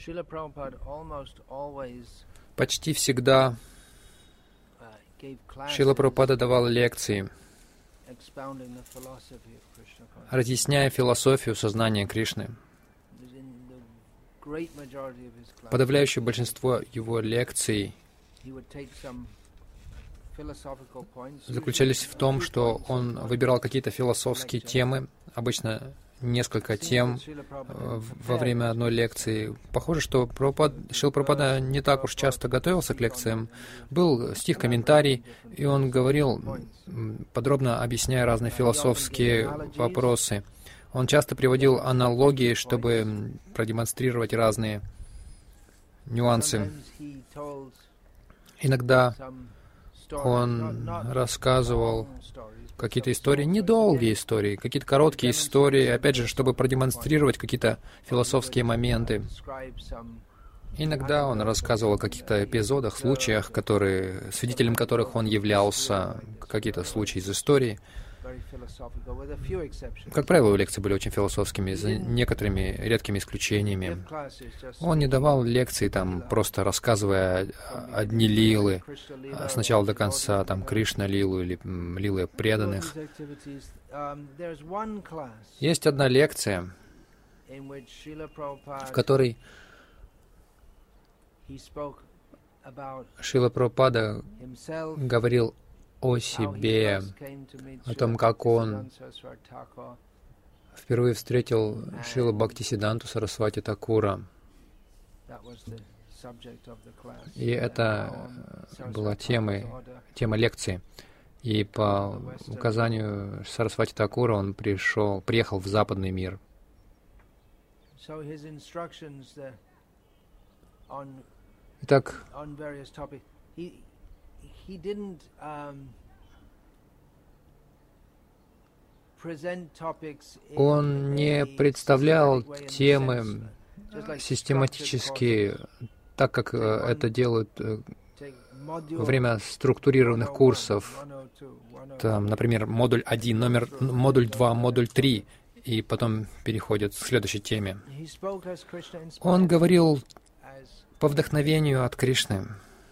Почти всегда Шрила Прабхупада давал лекции, разъясняя философию сознания Кришны. Подавляющее большинство его лекций заключались в том, что он выбирал какие-то философские темы, обычно несколько тем во время одной лекции. Похоже, что Шрила Прабхупада не так уж часто готовился к лекциям. Был стих-комментарий, и он говорил, подробно объясняя разные философские вопросы. Он часто приводил аналогии, чтобы продемонстрировать разные нюансы. Иногда он рассказывал какие-то истории, недолгие истории, какие-то короткие истории, опять же, чтобы продемонстрировать какие-то философские моменты. Иногда он рассказывал о каких-то эпизодах, случаях, свидетелем которых он являлся, какие-то случаи из истории. Как правило, его лекции были очень философскими, за некоторыми редкими исключениями. Он не давал лекции, просто рассказывая одни лилы, с начала до конца, Кришна-лилу или лилы преданных. Есть одна лекция, в которой Шрила Прабхупада говорил о себе, о том, как он впервые встретил Шрилу Бхактисиддханту Сарасвати Такура. И это была тема лекции. И по указанию Сарасвати Такура он приехал в западный мир. Итак, он не представлял темы систематически, так как это делают во время структурированных курсов. Например, модуль 1, модуль 2, модуль 3, и потом переходят к следующей теме. Он говорил по вдохновению от Кришны.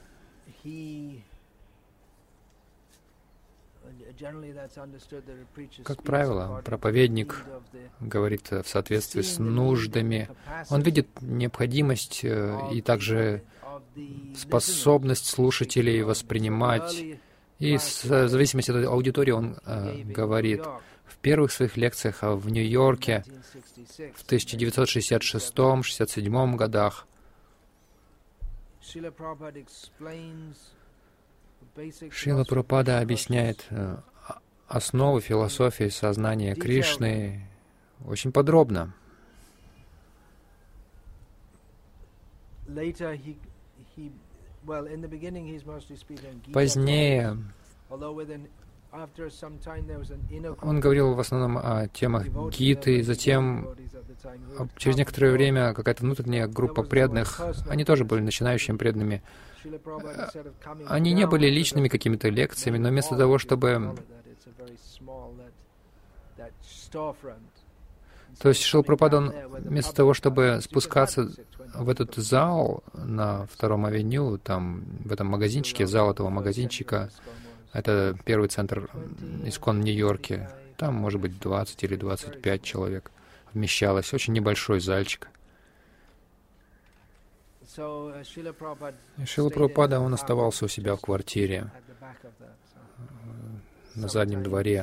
Как правило, проповедник говорит в соответствии с нуждами. Он видит необходимость и также способность слушателей воспринимать. И в зависимости от аудитории он говорит. В первых своих лекциях в Нью-Йорке в 1966-67 годах Шрила Прабхупада объясняет основы философии сознания Кришны очень подробно. Позднее он говорил в основном о темах Гиты, затем через некоторое время какая-то внутренняя группа преданных, они тоже были начинающими преданными. Они не были личными какими-то лекциями, но вместо того, чтобы... То есть Шрила Прабхупада, он вместо того, чтобы спускаться в этот зал на 2-м авеню, в этом магазинчике, зал этого магазинчика, это первый центр ИСККОН в Нью-Йорке, там, может быть, 20 или 25 человек вмещалось, очень небольшой зальчик. И Шрила Прабхупада, он оставался у себя в квартире на заднем дворе.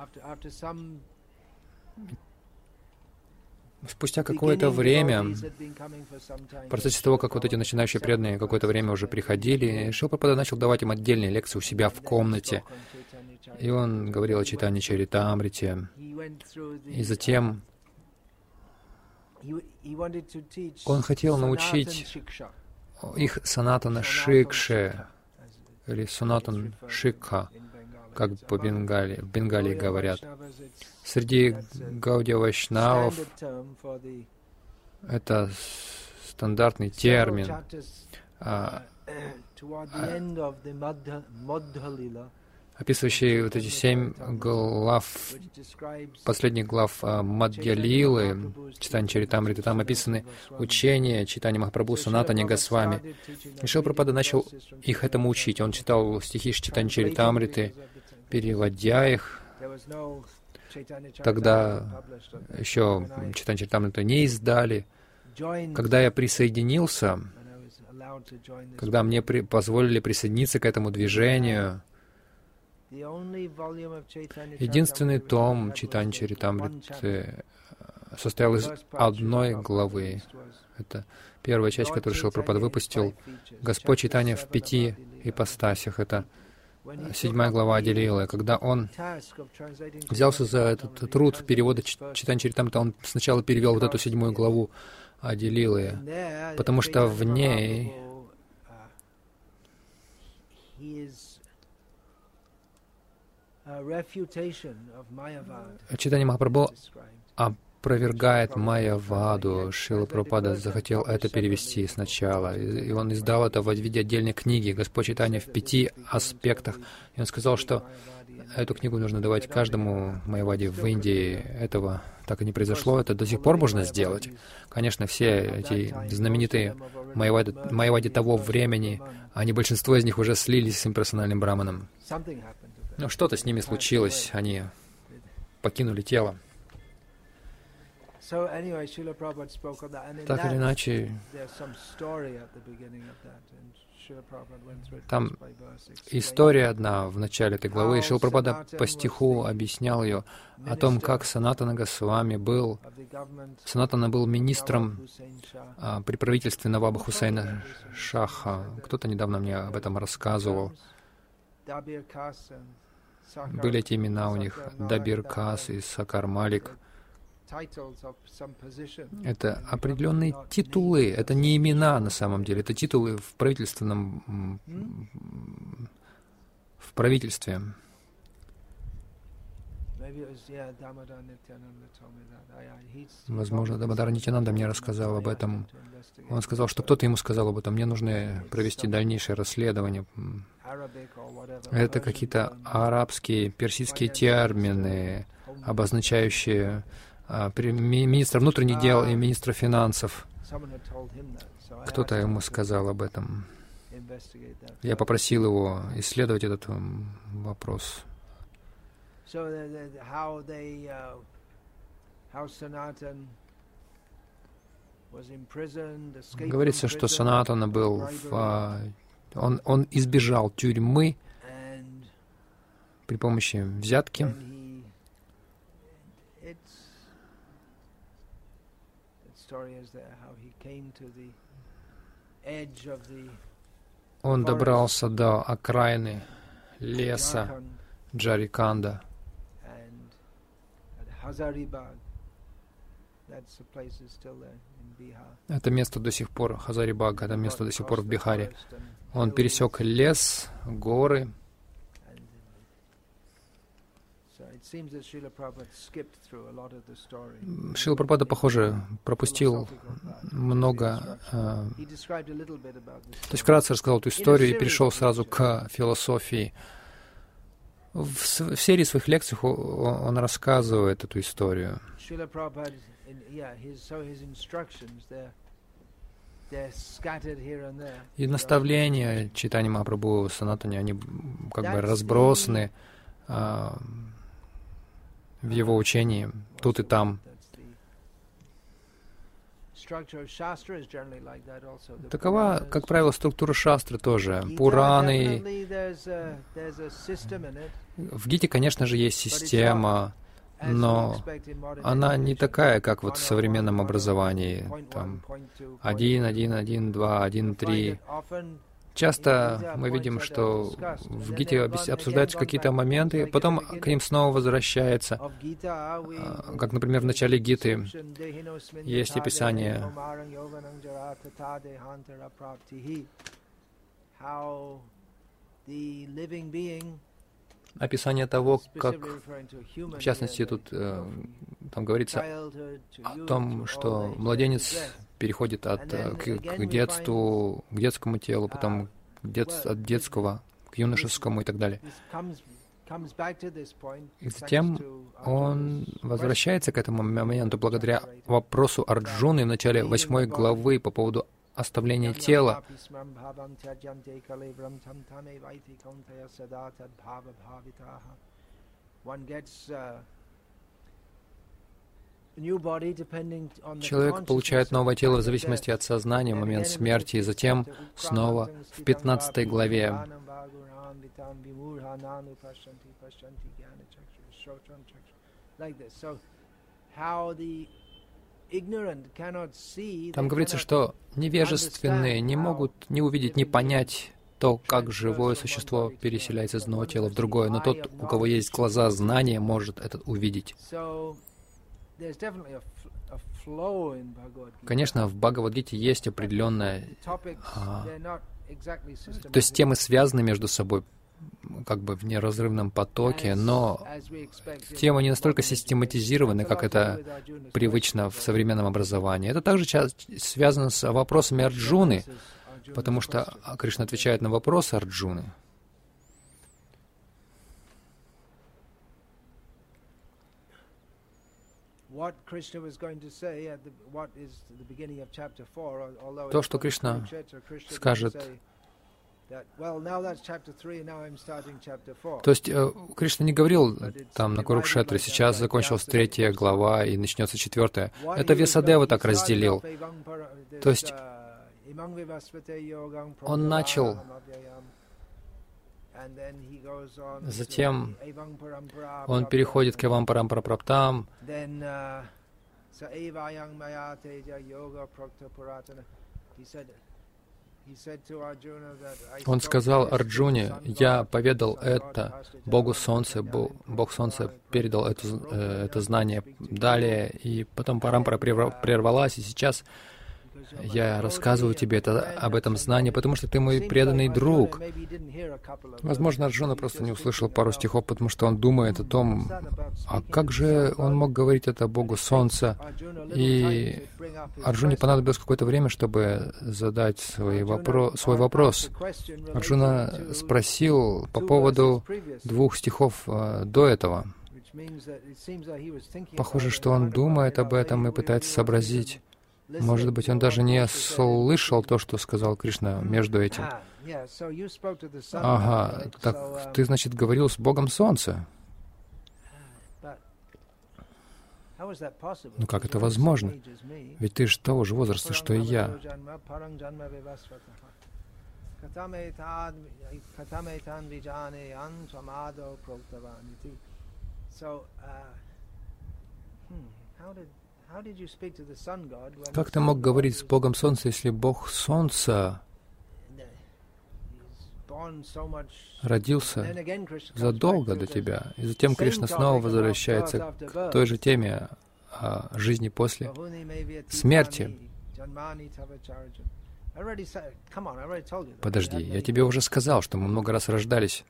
Спустя какое-то время, в процессе того, как вот эти начинающие преданные какое-то время уже приходили, Шрила Прабхупада начал давать им отдельные лекции у себя в комнате. И он говорил о Чайтанья Чаритамрите. И затем он хотел научить их санатана шикше, или санатан шикха, как в Бенгалии говорят. Среди гаудия вайшнавов это стандартный термин. описывающий вот эти 7 глав, последних глав Мадья Лилы, Читания Чаритамриты. Там описаны учения Чайтаньи Махапрабху, Санатани Госвами. И Шрила Прабхупада начал их этому учить. Он читал стихи Чайтаньи Чаритамриты, переводя их. Тогда еще Чайтаньи Чаритамриту не издали. Когда я присоединился, когда мне позволили присоединиться к этому движению, единственный том Чайтаньи Чаритамриты состоял из одной главы. Это первая часть, которую Шрила Прабхупада выпустил. Господь Чайтанья в 5 ипостасях. Это 7 глава Ади-лилы. Когда он взялся за этот труд перевода Чайтаньи Чаритамриты, он сначала перевел вот эту 7 главу Ади-лилы, потому что в ней Чайтанья Махапрабху опровергает Майяваду. Шрила Прабхупада захотел это перевести сначала, и он издал это в виде отдельной книги «Господь Чайтанья в 5 аспектах». И он сказал, что эту книгу нужно давать каждому Майяваде в Индии. Этого так и не произошло. Это до сих пор можно сделать. Конечно, все эти знаменитые Майявади того времени, большинство из них уже слились с имперсональным браманом. Но что-то с ними случилось, они покинули тело. Так или иначе, там история одна в начале этой главы, и Шрила Прабхупада по стиху объяснял ее о том, как Санатана Госвами был. Санатана был министром при правительстве Наваба Хусейна Шаха. Кто-то недавно мне об этом рассказывал. Были эти имена у них, Дабир Кас и Сакар Малик. Это определенные титулы, это не имена на самом деле, это титулы в правительстве. Возможно, Дамодар Нитьянанда мне рассказал об этом. Он сказал, что кто-то ему сказал об этом. Мне нужно провести дальнейшее расследование. Это какие-то арабские, персидские термины, обозначающие министра внутренних дел и министра финансов. Кто-то ему сказал об этом. Я попросил его исследовать этот вопрос. Говорится, что Санатана был он избежал тюрьмы при помощи взятки. Он добрался до окраины леса Джариканда. Это место до сих пор, Хазарибаг, это место до сих пор в Бихаре. Он пересек лес, горы. Шрила Прабхупада, похоже, пропустил много... То есть вкратце рассказал эту историю и перешел сразу к философии. В серии своих лекций он рассказывает эту историю. И наставления Чайтаньи Махапрабху, Санатани, они как бы разбросаны в его учении, тут и там. Такова, как правило, структура шастры тоже. Пураны. В Гите, конечно же, есть система, но она не такая, как вот в современном образовании. Там 1, 1, 1, 2, 1, 3. Часто мы видим, что в Гите обсуждаются какие-то моменты, потом к ним снова возвращается. Как, например, в начале Гиты есть описание того, как, в частности, тут там говорится о том, что младенец переходит к детству, к детскому телу, потом от детского к юношескому и так далее. И затем он возвращается к этому моменту благодаря вопросу Арджуны в начале 8 главы по поводу оставления тела. Человек получает новое тело в зависимости от сознания в момент смерти, и затем снова в 15 главе там говорится, что невежественные не могут не увидеть, не понять то, как живое существо переселяется из одного тела в другое, но тот, у кого есть глаза знания, может это увидеть. Конечно, в Бхагавад-гите есть определенная... то есть темы связаны между собой, как бы в неразрывном потоке, но темы не настолько систематизированы, как это привычно в современном образовании. Это также связано с вопросами Арджуны, потому что Кришна отвечает на вопросы Арджуны. То, что Кришна скажет... То есть Кришна не говорил там на Курукшетре, сейчас закончилась 3 глава и начнется 4. Это Вьясадева так разделил. То есть он начал, затем он переходит к Эвам Парам Прапраптам, он сказал Арджуне: «Я поведал это Богу Солнца, Бог Солнца передал это знание далее, и потом Парампара прервалась, и сейчас я рассказываю тебе об этом знании, потому что ты мой преданный друг». Возможно, Арджуна просто не услышал пару стихов, потому что он думает о том, а как же он мог говорить это Богу Солнца? И Арджуне понадобилось какое-то время, чтобы задать свой вопрос. Арджуна спросил по поводу 2 стихов до этого. Похоже, что он думает об этом и пытается сообразить. Может быть, он даже не слышал то, что сказал Кришна между этим. Ага, так ты, значит, говорил с Богом Солнца. Ну как это возможно? Ведь ты же того же возраста, что и я. Как ты мог говорить с Богом Солнца, если Бог Солнца родился задолго до тебя? И затем Кришна снова возвращается к той же теме о жизни после смерти. Подожди, я тебе уже сказал, что мы много раз рождались.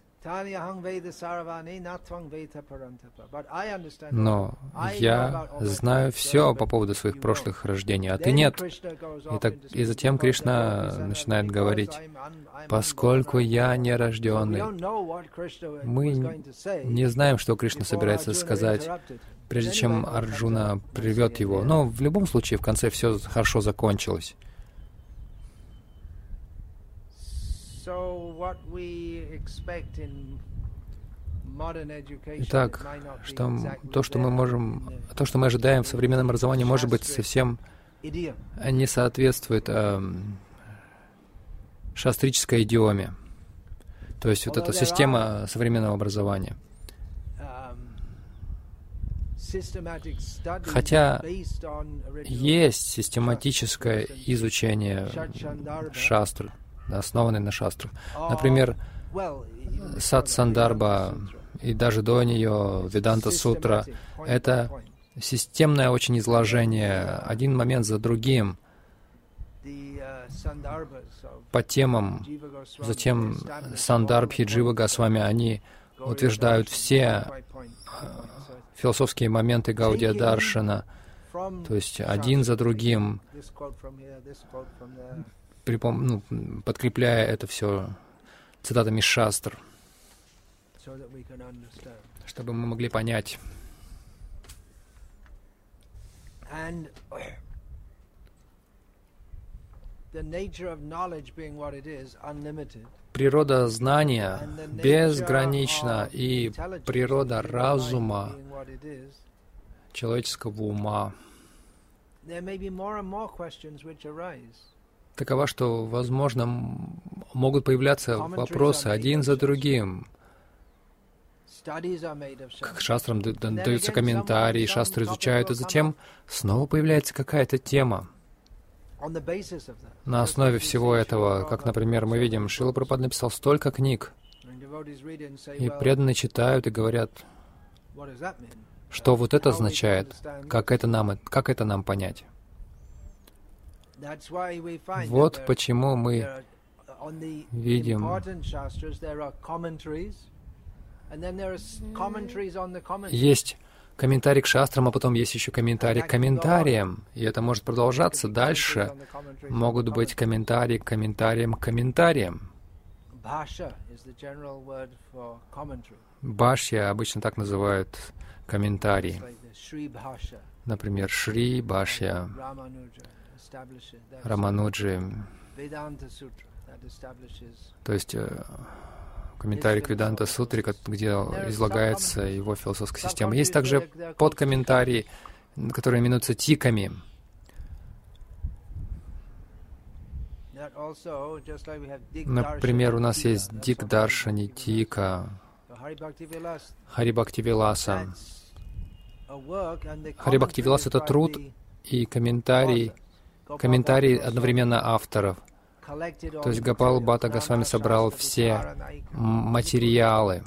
Но я знаю все по поводу своих прошлых рождений, а ты нет. И затем Кришна начинает говорить: поскольку я нерожденный. Мы не знаем, что Кришна собирается сказать, прежде чем Арджуна прервет его. Но в любом случае, в конце все хорошо закончилось. Итак, то, что мы ожидаем в современном образовании, может быть, совсем не соответствует шастрической идиоме. То есть вот эта система современного образования. Хотя есть систематическое изучение шастр, основанный на шастрах. Например, Сат-Сандарба и даже до нее Веданта-сутра — это системное очень изложение, один момент за другим, по темам. Затем Сандарбхи, Джива Госвами, они утверждают все философские моменты Гаудия Даршана, то есть один за другим, подкрепляя это все цитатами шастр. чтобы мы могли понять. Природа знания безгранична, и природа разума, человеческого ума такова, что, возможно, могут появляться вопросы один за другим. К шастрам даются комментарии, шастры изучают, и затем снова появляется какая-то тема. На основе всего этого, как, например, мы видим, Шрила Прабхупада написал столько книг, и преданные читают и говорят, что вот это означает, как это нам понять. Вот почему мы видим есть комментарий к шастрам, а потом есть еще комментарий к комментариям. И это может продолжаться дальше. Могут быть комментарии к комментариям к комментариям. Бхашья обычно так называют комментарии. Например, Шри Бхашья, Рамануджи, то есть комментарий к Веданта Сутре, где излагается его философская система. Есть также подкомментарии, которые именуются тиками. Например, у нас есть Дикдаршани Тика, Хари Бхакти Виласа. Хари Бхакти Виласа — это труд и комментарий одновременно авторов. То есть Гопал Бхатта Госвами собрал все материалы.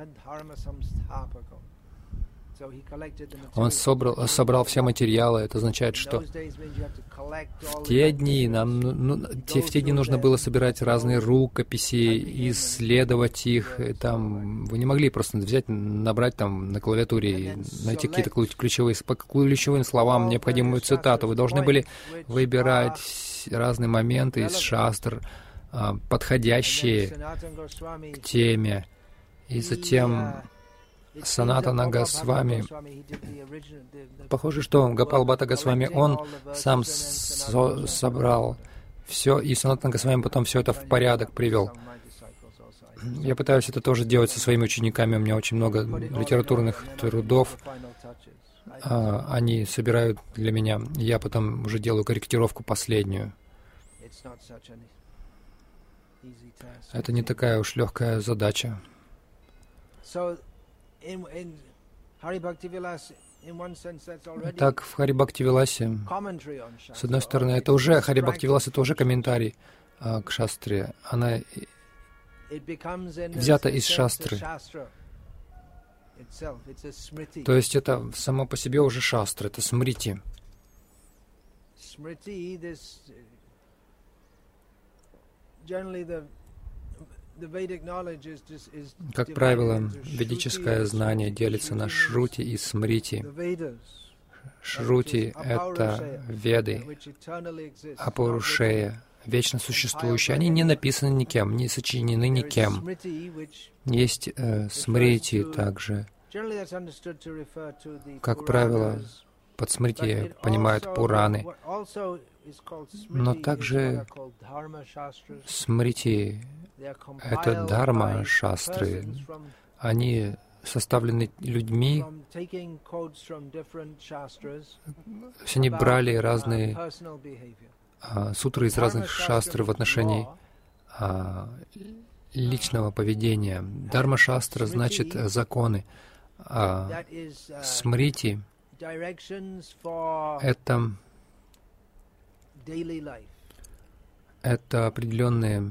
Он собрал все материалы. Это означает, что в те дни нужно было собирать разные рукописи, исследовать их. Там вы не могли просто взять, набрать там на клавиатуре и найти какие-то по ключевым словам необходимую цитату. Вы должны были выбирать разные моменты из шастр, подходящие к теме. И затем Санатана Госвами, похоже, что Гопал Бхатта Госвами, он сам собрал все, и Санатана Госвами потом все это в порядок привел. Я пытаюсь это тоже делать со своими учениками, у меня очень много литературных трудов, они собирают для меня, я потом уже делаю корректировку последнюю. Это не такая уж легкая задача. Так, в Хари Бхакти Виласе, с одной стороны, это уже, Хари Бхакти Вилас — это уже комментарий к шастре. Она взята из шастры. То есть это само по себе уже шастра, это смрити. Как правило, ведическое знание делится на шрути и смрити. Шрути — это веды, апурушея, вечно существующие. Они не написаны никем, не сочинены никем. Есть смрити также. Как правило, под смрити понимают Пураны. Но также смрити — это дхарма-шастры. Они составлены людьми. Они брали разные сутры из разных шастр в отношении личного поведения. Дхарма-шастра значит законы. А смрити — это определенные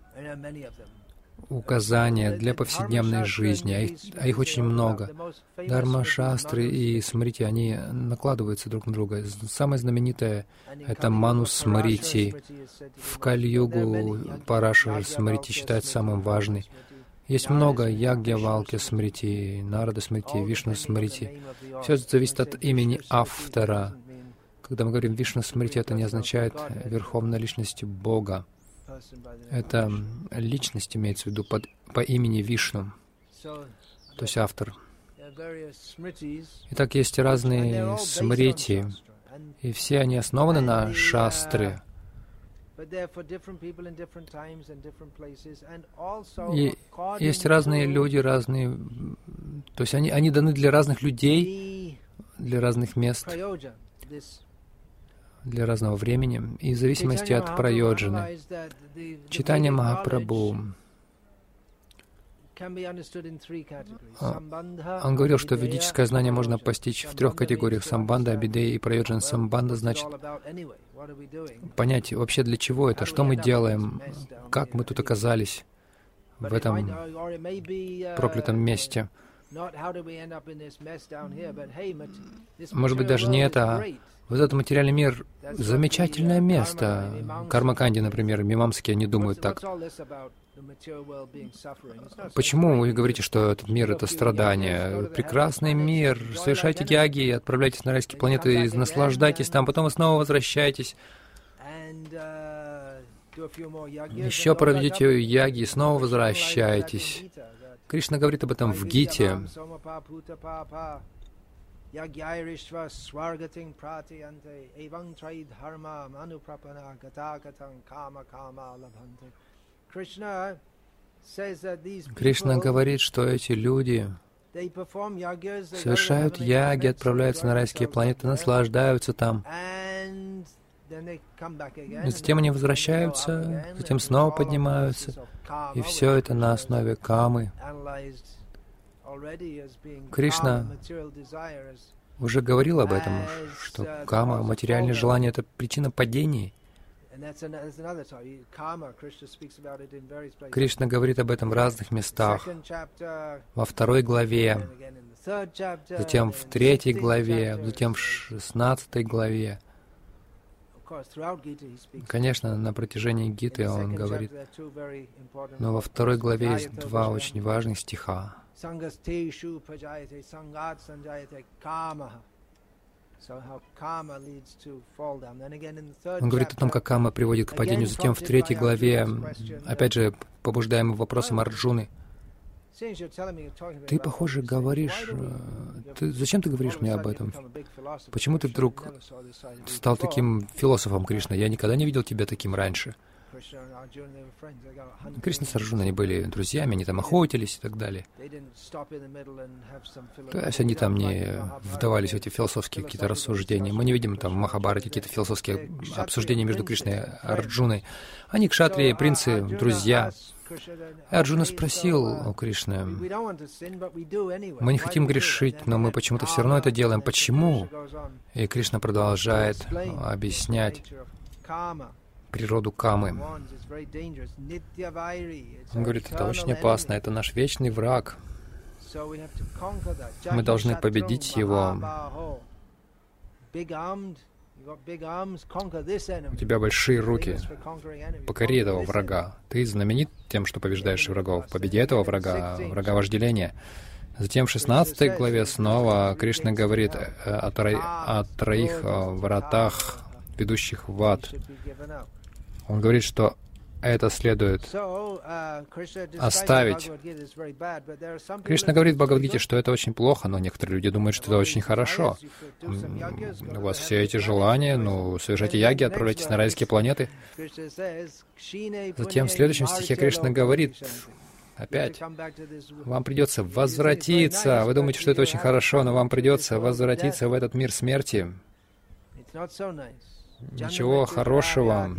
указания для повседневной жизни, а их очень много. Дхарма-шастры и смрити, они накладываются друг на друга. Самое знаменитое — это Ману-смрити. В Кали-югу Парашара-смрити считается самым важным. Есть много Ягья-валкья-смрити, Нарада-смрити, Вишну-смрити. Все это зависит от имени автора. Когда мы говорим Вишну-смрити, это не означает верховная личность Бога. Это личность имеется в виду по имени Вишну. то есть автор. Итак, есть разные смрити, и все они основаны на шастре. И есть разные люди, разные... То есть они даны для разных людей, для разных мест, для разного времени, и в зависимости от прайоджаны. Чайтанья Махапрабху, он говорил, что ведическое знание можно постичь в 3 категориях: самбанда, абидея и прайоджана. Самбанда значит понять вообще, для чего это, что мы делаем, как мы тут оказались в этом проклятом месте. Может быть, даже не это, а вот этот материальный мир — замечательное место. Карма-канди, например, мимамсаки, они думают так. Почему вы говорите, что этот мир — это страдание? Прекрасный мир, совершайте яги, отправляйтесь на райские планеты, наслаждайтесь там, потом вы снова возвращаетесь. Еще проведете яги и снова возвращаетесь. Кришна говорит об этом в Гите. Кришна говорит, что эти люди совершают яги, отправляются на райские планеты, наслаждаются там. И затем они возвращаются, затем снова поднимаются. И все это на основе камы. Кришна уже говорил об этом, что кама, материальное желание — это причина падений. Кришна говорит об этом в разных местах. Во 2 главе, затем в 3 главе, затем в 16 главе. Конечно, на протяжении Гиты он говорит, но во 2 главе есть 2 очень важных стиха. Он говорит о том, как кама приводит к падению. Затем в 3 главе, опять же, побуждаемым вопросом Арджуны, ты, похоже, говоришь... Зачем ты говоришь мне об этом? Почему ты вдруг стал таким философом, Кришна? Я никогда не видел тебя таким раньше. Кришна с Арджуной, они были друзьями, они там охотились и так далее. То есть они там не вдавались в эти философские какие-то рассуждения. Мы не видим там в Махабхарате какие-то философские обсуждения между Кришной и Арджуной. Они кшатрии, принцы, друзья. И Арджуна спросил у Кришны: мы не хотим грешить, но мы почему-то все равно это делаем. Почему? И Кришна продолжает объяснять природу камы. Он говорит, это очень опасно, это наш вечный враг. Мы должны победить его. У тебя большие руки. Покори этого врага. Ты знаменит тем, что побеждаешь врагов. Победи этого врага, врага вожделения. Затем в 16 главе снова Кришна говорит о 3 вратах, ведущих в ад. Он говорит, что это следует оставить. Кришна говорит в Бхагавад-гите, что это очень плохо, но некоторые люди думают, что это очень хорошо. У вас все эти желания, совершайте яги, отправляйтесь на райские планеты. Затем в следующем стихе Кришна говорит, опять, вам придется возвратиться. Вы думаете, что это очень хорошо, но вам придется возвратиться в этот мир смерти. Ничего хорошего.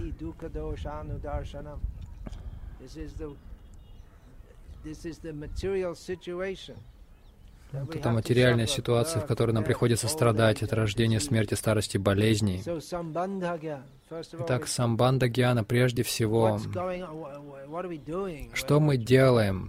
Это материальная ситуация, в которой нам приходится страдать от рождения, смерти, старости, болезней. Итак, самбанда гьяна прежде всего. Что мы делаем?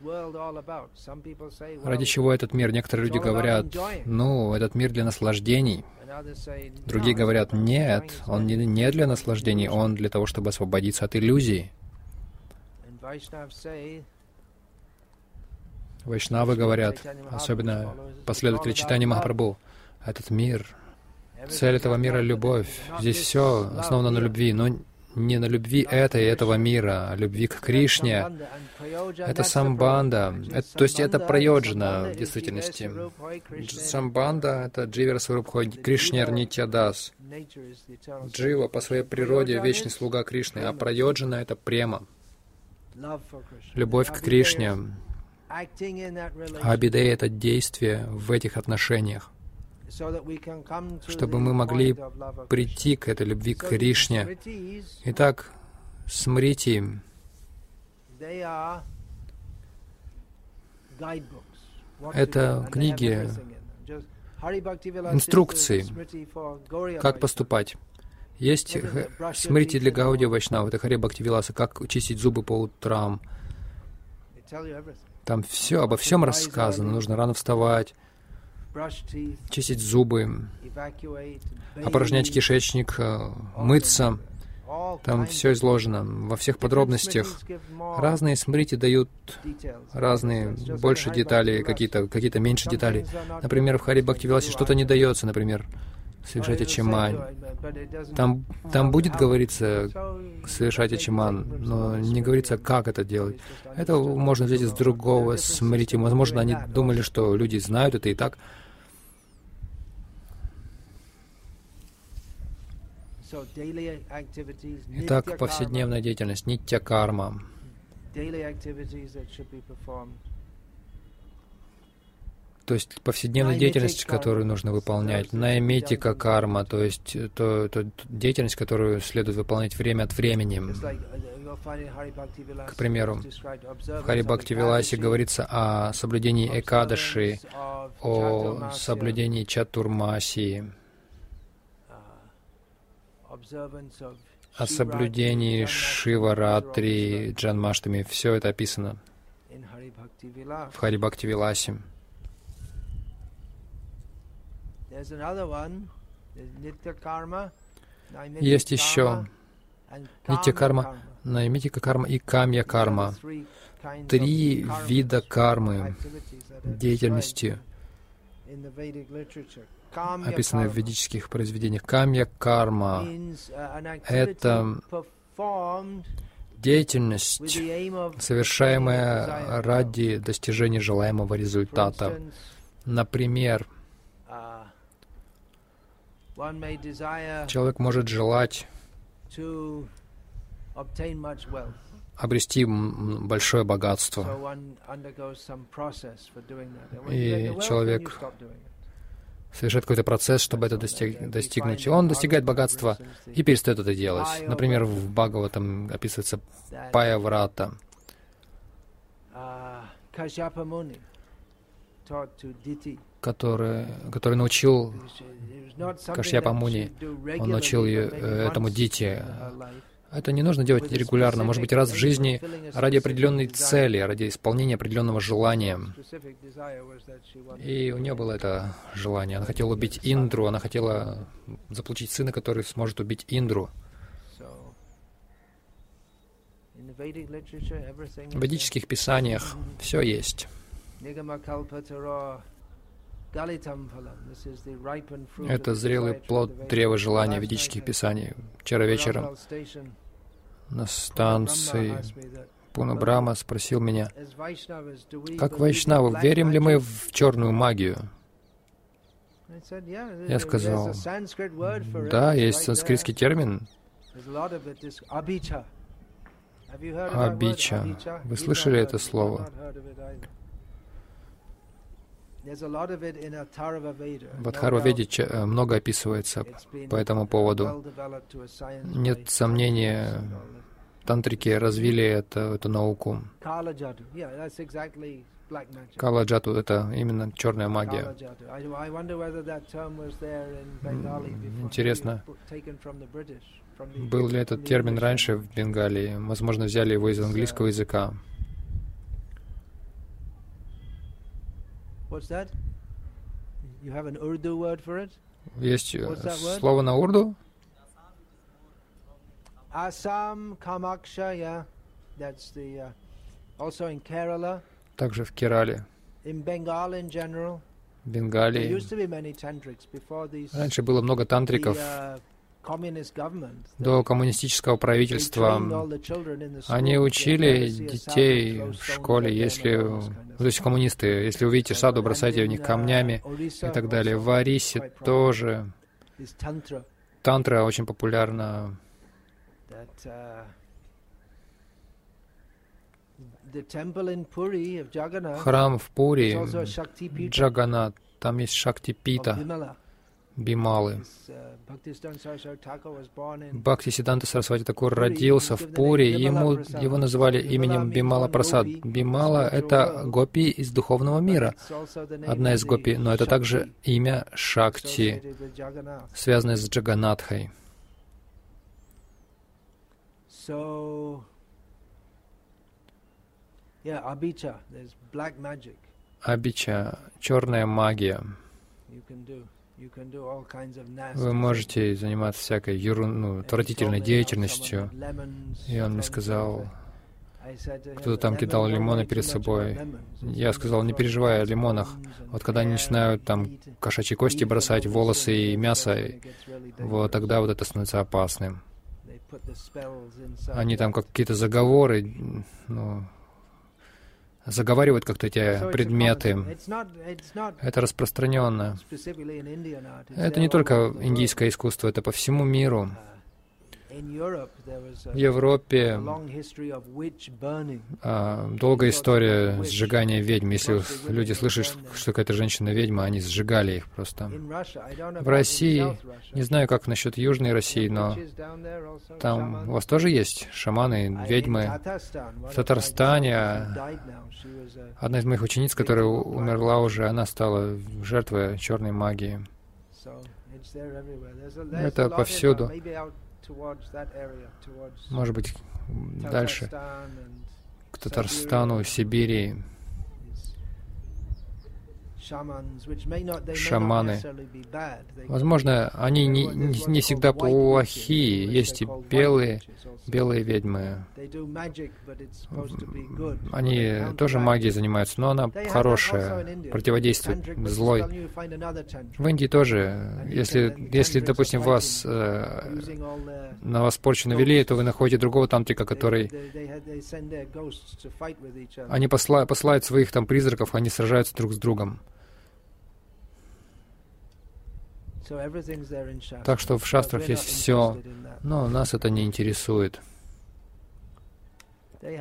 Ради чего этот мир? Некоторые люди говорят, этот мир для наслаждений. Другие говорят, нет, он не для наслаждений, он для того, чтобы освободиться от иллюзий. Вайшнавы говорят, особенно последователи Чайтаньи Махапрабху, этот мир, цель этого мира — любовь. Здесь все основано на любви, но не на любви этого мира, а любви к Кришне. Это самбанда, то есть это прайоджана в действительности. Самбанда — это Дживера Сварубхой Кришнер Нитьядас. Джива по своей природе вечный слуга Кришны, а прайоджана — это према, любовь к Кришне. Абидея — это действие в этих отношениях, чтобы мы могли прийти к этой любви к Кришне. Итак, смрити — это книги, инструкции, как поступать. Есть смрити для Гаудия Вайшнава, это Хари Бхакти Виласа, как чистить зубы по утрам. Там все, обо всем рассказано. Нужно рано вставать, чистить зубы, опорожнять кишечник, мыться. Там все изложено во всех подробностях. Разные смрити дают разные, больше деталей, какие-то меньше деталей. Например, в Хари Бхакти Виласе что-то не дается, например, совершать ачимань. Там будет говориться совершать ачиман, но не говорится, как это делать. Это можно взять из другого смрити. Возможно, они думали, что люди знают это и так. Итак, повседневная деятельность, нитья карма. То есть повседневная деятельность, которую нужно выполнять. Наймитика карма, то есть деятельность, которую следует выполнять время от времени. К примеру, в Хари Бхакти Виласе говорится о соблюдении Экадаши, о соблюдении Чатурмасии, о соблюдении Шиваратри, Джанмаштами. Все это описано в Хари Бхакти Виласе. Есть еще нитья карма, наймитика карма и камья карма. 3 вида кармы, деятельности, описанные в ведических произведениях. Камья карма — это деятельность, совершаемая ради достижения желаемого результата. Например, человек может желать обрести большое богатство, и человек совершает какой-то процесс, чтобы это достигнуть. Он достигает богатства и перестает это делать. Например, в Бхагаватам описывается Паяврата. Который научил Кашьяпа Муни, он научил этому Дити. Это не нужно делать регулярно, может быть, раз в жизни, ради определенной цели, ради исполнения определенного желания. И у нее было это желание. Она хотела убить Индру, она хотела заполучить сына, который сможет убить Индру. В ведических писаниях все есть. Это зрелый плод древа желания ведических писаний. Вчера вечером на станции Пуна Брахма спросил меня, как вайшнавы, верим ли мы в черную магию? Я сказал, да, есть санскритский термин абича. Вы слышали это слово? В Атхарва-веде много описывается по этому поводу. Нет сомнения, тантрики развили эту науку. Кала-джату — это именно черная магия. Интересно, был ли этот термин раньше в Бенгалии? Возможно, взяли его из английского языка. Есть слово на урду? Также в Керале, в Бенгалии. Раньше было много тантриков до коммунистического правительства. Они учили детей в школе, то есть коммунисты, если увидите саду, бросайте в них камнями и так далее. В Орисе тоже тантра очень популярна. Храм в Пури, Джаганнат, там есть Шакти-пита, Бималы. Бхактисиданта Сарасвати Такур родился в Пури, его называли именем Бимала Прасад. Бимала — это гопи из духовного мира, одна из гопи, но это также имя Шакти, связанное с Джаганатхой. Абича, черная магия. Вы можете заниматься всякой отвратительной деятельностью. И он мне сказал, кто-то там кидал лимоны перед собой. Я сказал, не переживай о лимонах. Вот когда они начинают там кошачьи кости бросать, волосы и мясо, вот тогда вот это становится опасным. Они там какие-то заговоры, заговаривают как-то эти предметы. Это распространенно. Это не только индийское искусство, это по всему миру. В Европе долгая история сжигания ведьм. Если люди слышат, что какая-то женщина ведьма, они сжигали их просто. В России, не знаю, как насчет Южной России, но там у вас тоже есть шаманы, ведьмы. В Татарстане одна из моих учениц, которая умерла уже, она стала жертвой черной магии. Это повсюду. Может быть, дальше, к Татарстану, Сибири. Шаманы. Возможно, они не всегда плохие. Есть и белые ведьмы. Они тоже магией занимаются, но она хорошая, противодействует злой. В Индии тоже. Если допустим, на вас порчу навели, то вы находите другого тантрика, который... Они посылают своих там призраков, они сражаются друг с другом. Так что в шастрах есть все, но нас это не интересует. У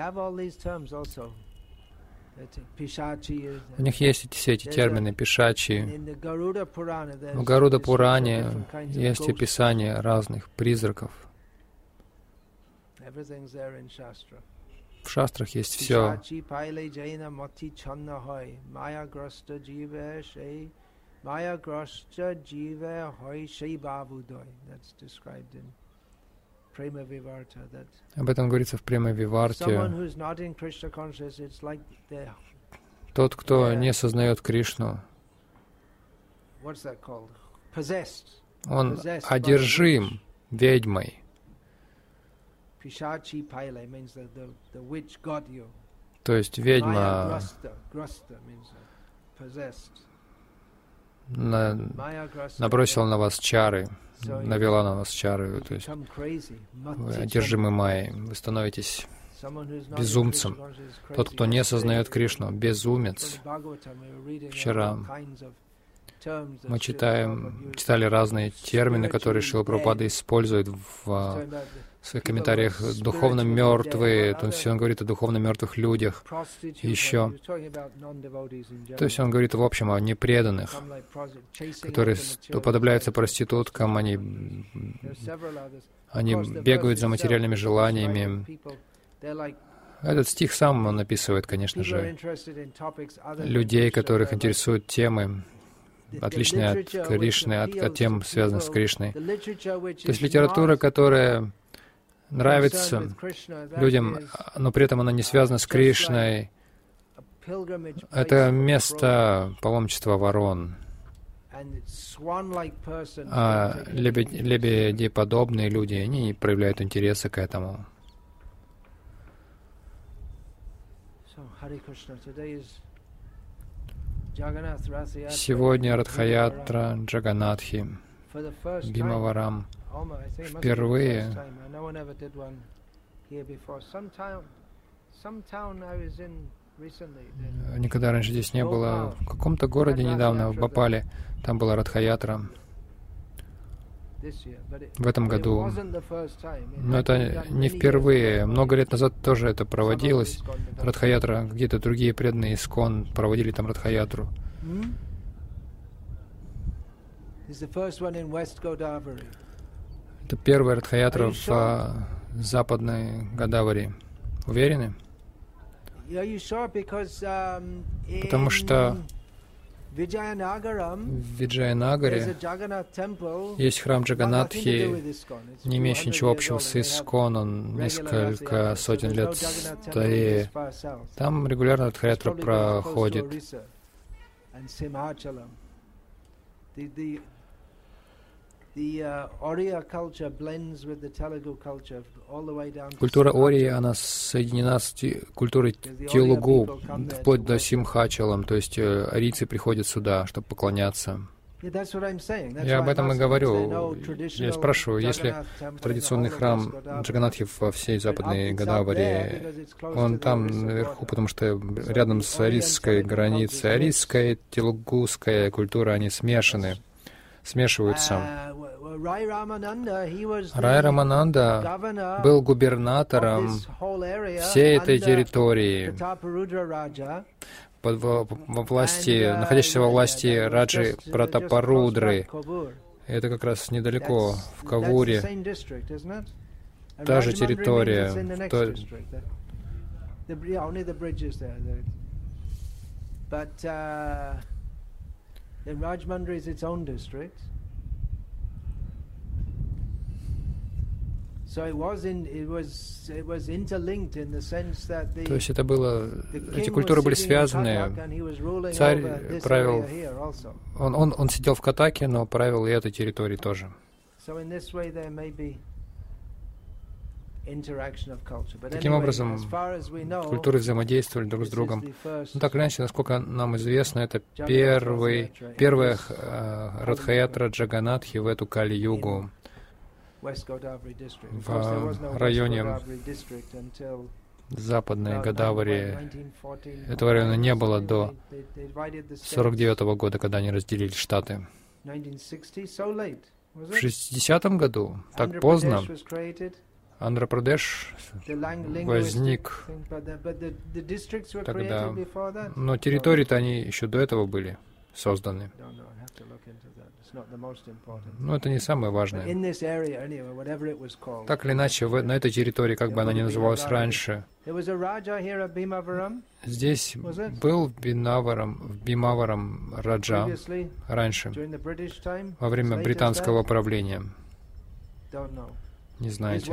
них есть все эти термины, пишачи. В Гаруда-Пуране есть описание разных призраков. В шастрах есть все. Об этом говорится в Према-виварте. Тот, кто не сознает Кришну, он одержим ведьмой. То есть ведьма набросила на вас чары, навела на вас чары, то есть вы одержимы майей, вы становитесь безумцем. Тот, кто не сознает Кришну, безумец. Вчера мы читали разные термины, которые Шрила Прабхупада использует в своих комментариях. Духовно мертвые, то есть он говорит о духовно мертвых людях. Еще. То есть он говорит в общем о непреданных, которые уподобляются проституткам, они бегают за материальными желаниями. Этот стих сам он описывает, конечно же, людей, которых интересуют темы, отличные от Кришны, от тем, связанных с Кришной. То есть литература, которая нравится людям, но при этом она не связана с Кришной, это место паломничества ворон. А лебедеподобные люди, они не проявляют интереса к этому. Сегодня Радха-ятра Джаганатхи, Бимаварам. впервые никогда раньше здесь не было. В каком-то городе недавно, в Бхопале, там была Радха-ятра. В этом году. Но это не впервые. Много лет назад тоже это проводилось. Радха-ятра, какие-то другие преданные ИСККОН проводили там Радха-ятру. Это первая Радха-ятра в западной Годавари. Уверены? Потому что в Виджаянагаре есть храм Джаганатхи, не имеющий ничего общего с ИСККОН, он несколько сотен лет старее. Там регулярно Радха-ятра проходит. Культура Ории, она соединена с культурой Телугу, вплоть до Симхачалам, то есть арийцы приходят сюда, чтобы поклоняться. Я об этом и говорю. Я спрашиваю, если традиционный храм Джаганатхи во всей западной Годавари, он там наверху, потому что рядом с арийской границей, арийская и телугуская культура, они смешиваются. Рай Рамананда был губернатором всей этой территории, находящейся во власти Раджи Пратапарудры. Это как раз недалеко, в Кавуре. Та же территория. То есть это было, эти культуры были связаны. Царь правил, он сидел в Катаке, но правил и этой территорией тоже. Таким образом, культуры взаимодействовали друг с другом. Ну, так или иначе, насколько нам известно, это первая Радха-ятра Джаганатхи в эту Кали-югу в районе западной Годавари. Этого района не было до 1949 года, когда они разделили штаты. В 60-м году, так поздно, Андхра-Прадеш возник тогда, но территории-то они еще до этого были созданы. Но это не самое важное. Так или иначе, на этой территории, как бы она ни называлась раньше, здесь был Бимаварам Раджа раньше, во время британского правления. Не знаете.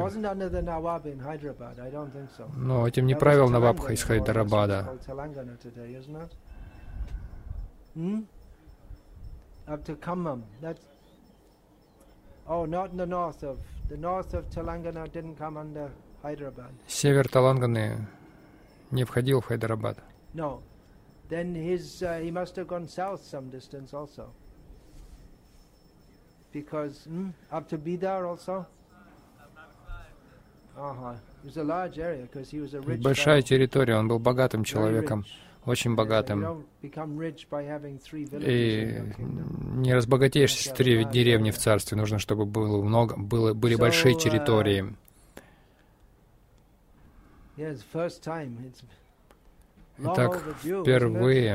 Но этим не правил Навабха из Хайдарабада. Up to Khammam. That's not in the north of Telangana didn't come under Hyderabad. Север Таланганы не входил в Хайдарабад. No. Then he must have gone south some distance also. Because up to Bidar also. It was a large area because he was a rich. Большая территория, он был богатым человеком. Очень богатым. И не разбогатеешь, если 3 деревни в царстве. Нужно, чтобы были большие территории. Итак, впервые.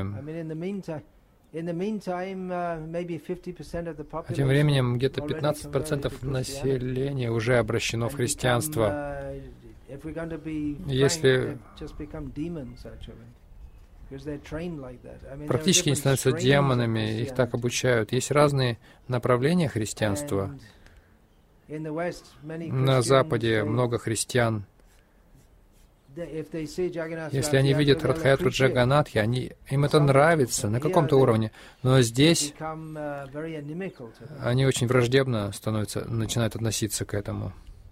А тем временем где-то 15% населения уже обращено в христианство. Если практически не становятся демонами, их так обучают. Есть разные направления христианства. На Западе много христиан. Если они видят Радха-ятру Джаганатхи, им это нравится на каком-то уровне. Но здесь они очень враждебно начинают относиться к этому.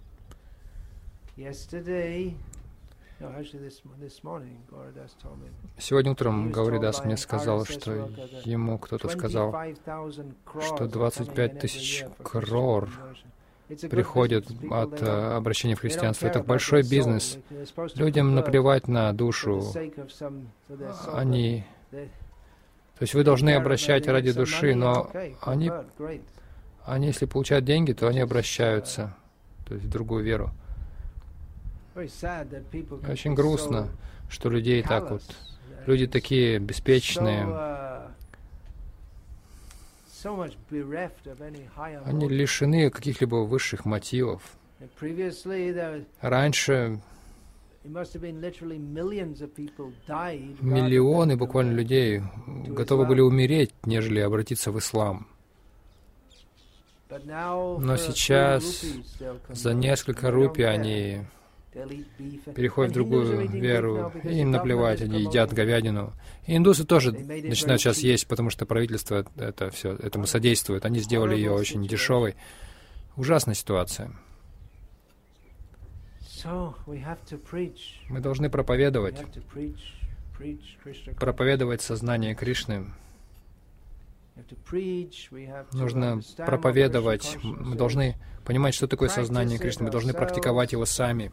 Сегодня утром Гауридас мне сказал, что ему кто-то сказал, что 25 тысяч крор приходят от обращения в христианство. Это большой бизнес. Людям наплевать на душу. То есть вы должны обращать ради души, но они, если получают деньги, то они обращаются, то есть в другую веру. Очень грустно, что людей так вот, люди такие беспечные, они лишены каких-либо высших мотивов. Раньше миллионы буквально людей готовы были умереть, нежели обратиться в ислам. Но сейчас за несколько рупий они переходят в другую веру, и им наплевать, они едят говядину. И индусы тоже начинают сейчас есть, потому что правительство это все этому содействует. Они сделали ее очень дешевой. Ужасная ситуация. Мы должны проповедовать сознание Кришны. Нужно проповедовать. Мы должны понимать, что такое сознание Кришны. Мы должны практиковать его сами.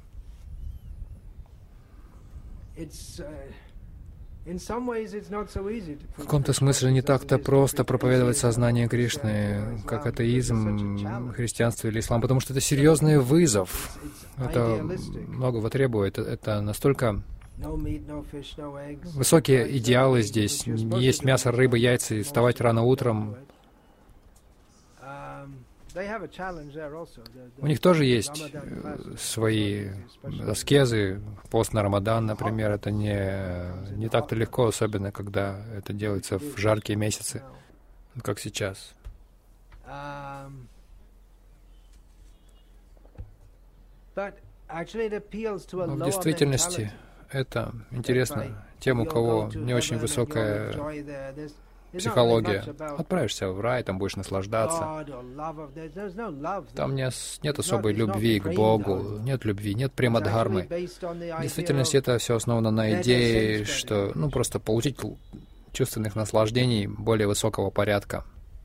В каком-то смысле не так-то просто проповедовать сознание Кришны, как атеизм, христианство или ислам, потому что это серьезный вызов. Это многого требует. Это настолько высокие идеалы здесь. Не есть мясо, рыба, яйца и вставать рано утром. У них тоже есть свои аскезы. Пост на Рамадан, например, это не так-то легко, особенно когда это делается в жаркие месяцы, как сейчас. Но в действительности это интересно тем, у кого не очень высокая психология. Отправишься в рай, там будешь наслаждаться. Там нет особой любви к Богу, нет любви, нет премадхармы. В действительности это все основано на идее, что просто получить чувственных наслаждений более высокого порядка.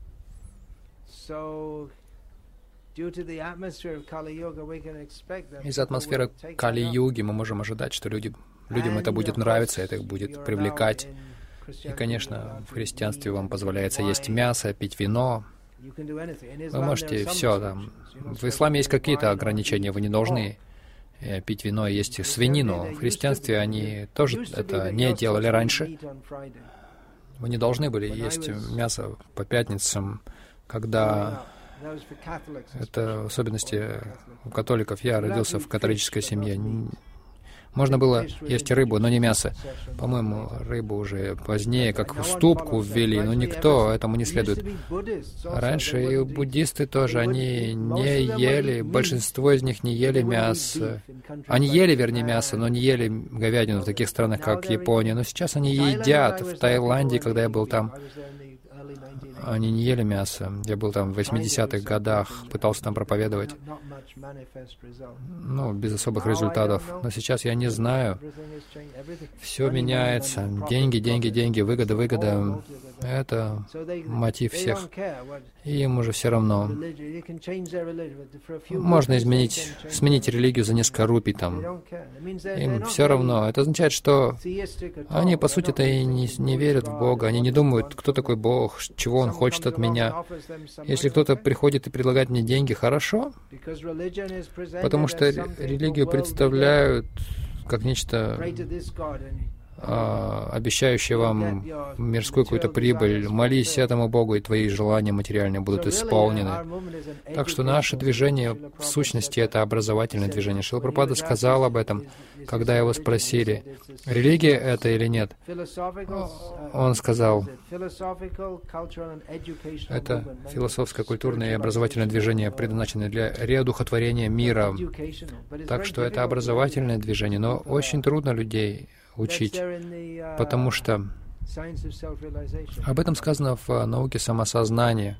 Из-за атмосферы Кали-юги мы можем ожидать, что людям это будет нравиться, это их будет привлекать. И, конечно, в христианстве вам позволяется есть мясо, пить вино. Вы можете все там. В исламе есть какие-то ограничения, вы не должны пить вино и есть свинину. В христианстве они тоже это не делали раньше. Вы не должны были есть мясо по пятницам, когда... Это в особенности у католиков. Я родился в католической семье. Можно было есть рыбу, но не мясо. По-моему, рыбу уже позднее, как уступку ввели, но никто этому не следует. Раньше и буддисты тоже, они не ели, большинство из них не ели мясо. Они ели, вернее, мясо, но не ели говядину в таких странах, как Япония. Но сейчас они едят. В Таиланде, когда я был там, они не ели мясо. Я был там в 80-х годах, пытался там проповедовать. Без особых результатов. Но сейчас я не знаю. Все меняется. Деньги, деньги, деньги, выгода, выгода. Это мотив всех. И им уже все равно. Можно сменить религию за несколько рупий там. Им все равно. Это означает, что они, по сути-то, и не верят в Бога. Они не думают, кто такой Бог, чего Он хочет от меня. Если кто-то приходит и предлагает мне деньги, хорошо, потому что религию представляют как нечто обещающее вам мирскую какую-то прибыль. Молись этому Богу, и твои желания материальные будут исполнены. Так что наше движение, в сущности, это образовательное движение. Шрила Прабхупада сказал об этом, когда его спросили, религия это или нет. Он сказал, это философское, культурное и образовательное движение, предназначенное для реодухотворения мира. Так что это образовательное движение, но очень трудно людей учить, потому что об этом сказано в науке самосознания.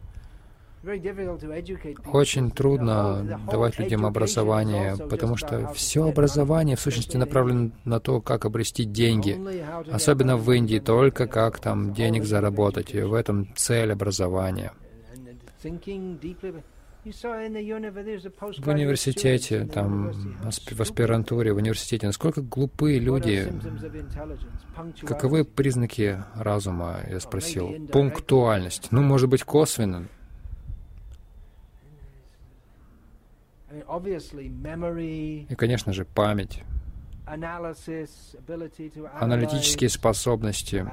Очень трудно давать людям образование, потому что все образование в сущности направлено на то, как обрести деньги. Особенно в Индии, только как там денег заработать. И в этом цель образования. В университете, там, в аспирантуре, в университете, насколько глупые люди. Каковы признаки разума, я спросил. Пунктуальность. Ну, может быть, косвенно. И, конечно же, память, аналитические способности.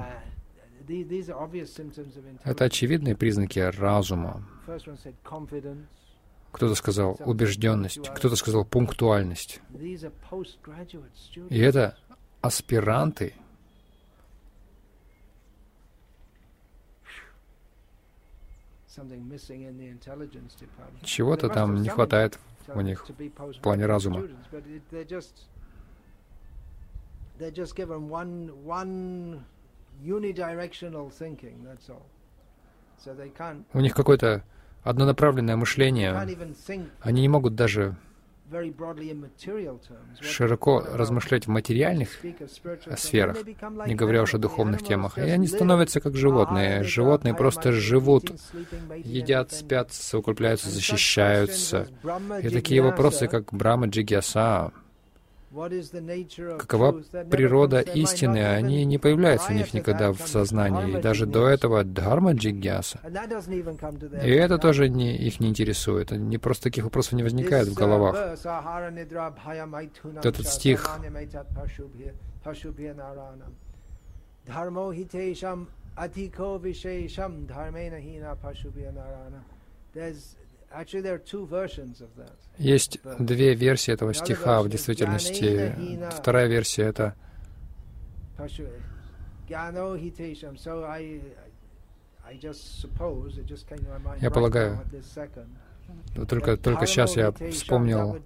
Это очевидные признаки разума. Кто-то сказал убежденность, кто-то сказал пунктуальность. И это аспиранты. Чего-то там не хватает у них в плане разума. У них какое-то однонаправленное мышление. Они не могут даже широко размышлять в материальных сферах, не говоря уж о духовных темах. И они становятся как животные. Животные просто живут, едят, спят, совокупляются, защищаются. И такие вопросы, как Брахма Джигьяса, какова природа истины, они не появляются у них никогда в сознании. И даже до этого Дхарма Джигьяса. И это тоже их не интересует. Просто таких вопросов не возникает в головах. Этот стих есть две версии этого стиха в действительности. Вторая версия — это я полагаю, только сейчас я вспомнил,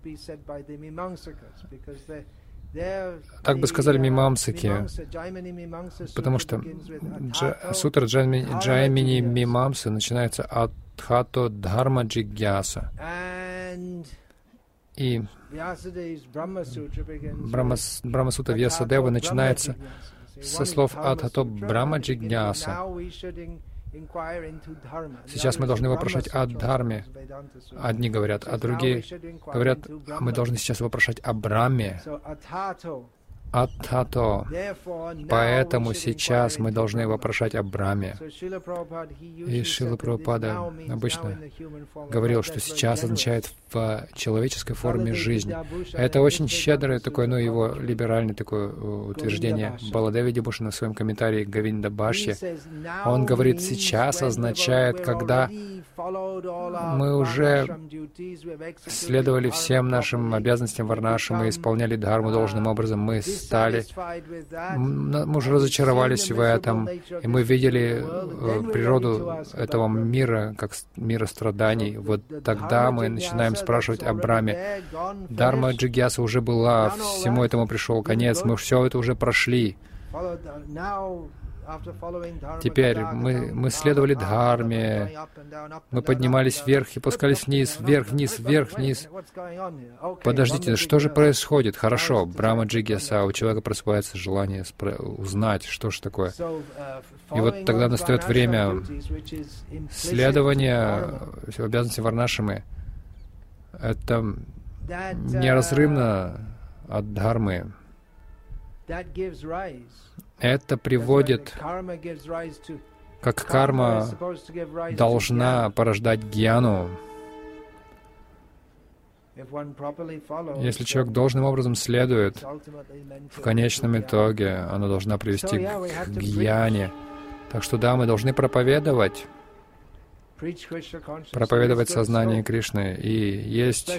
так бы сказали мимамсаки, потому что сутра Джаймини Мимамсы начинается от Тхато Дхарма Джигьяса. И Брахма-сутра Вьясадева начинается со слов Адхато Брахма Джигьяса. Сейчас мы должны вопрошать о Дхарме. Одни говорят, а другие говорят, мы должны сейчас вопрошать о Брахме. Адхато. Поэтому сейчас мы должны вопрошать о Брахме. И Шрила Прабхупада обычно говорил, что сейчас означает в человеческой форме жизнь. Это очень щедрое такое, его либеральное такое утверждение. Баладеви Вибхушана в своем комментарии к Говинда Бхашье, он говорит, сейчас означает, когда мы уже следовали всем нашим обязанностям варнашам и исполняли дхарму должным образом, мы уже разочаровались в этом, и мы видели природу этого мира, как мира страданий. Вот тогда мы начинаем спрашивать о Брахме. Дхарма Джигьяса уже была, всему этому пришел конец, мы все это уже прошли. Теперь мы следовали Дхарме, мы поднимались вверх и пускались вниз, вверх, вниз, вверх, вниз. Подождите, что же происходит? Хорошо, Брахма Джигьяса, у человека просыпается желание узнать, что же такое. И вот тогда настает время следования обязанностей варнашамы. Это неразрывно от Дхармы. Это приводит, как карма должна порождать гьяну. Если человек должным образом следует, в конечном итоге она должна привести к гьяне. Так что да, мы должны проповедовать сознание Кришны. И есть...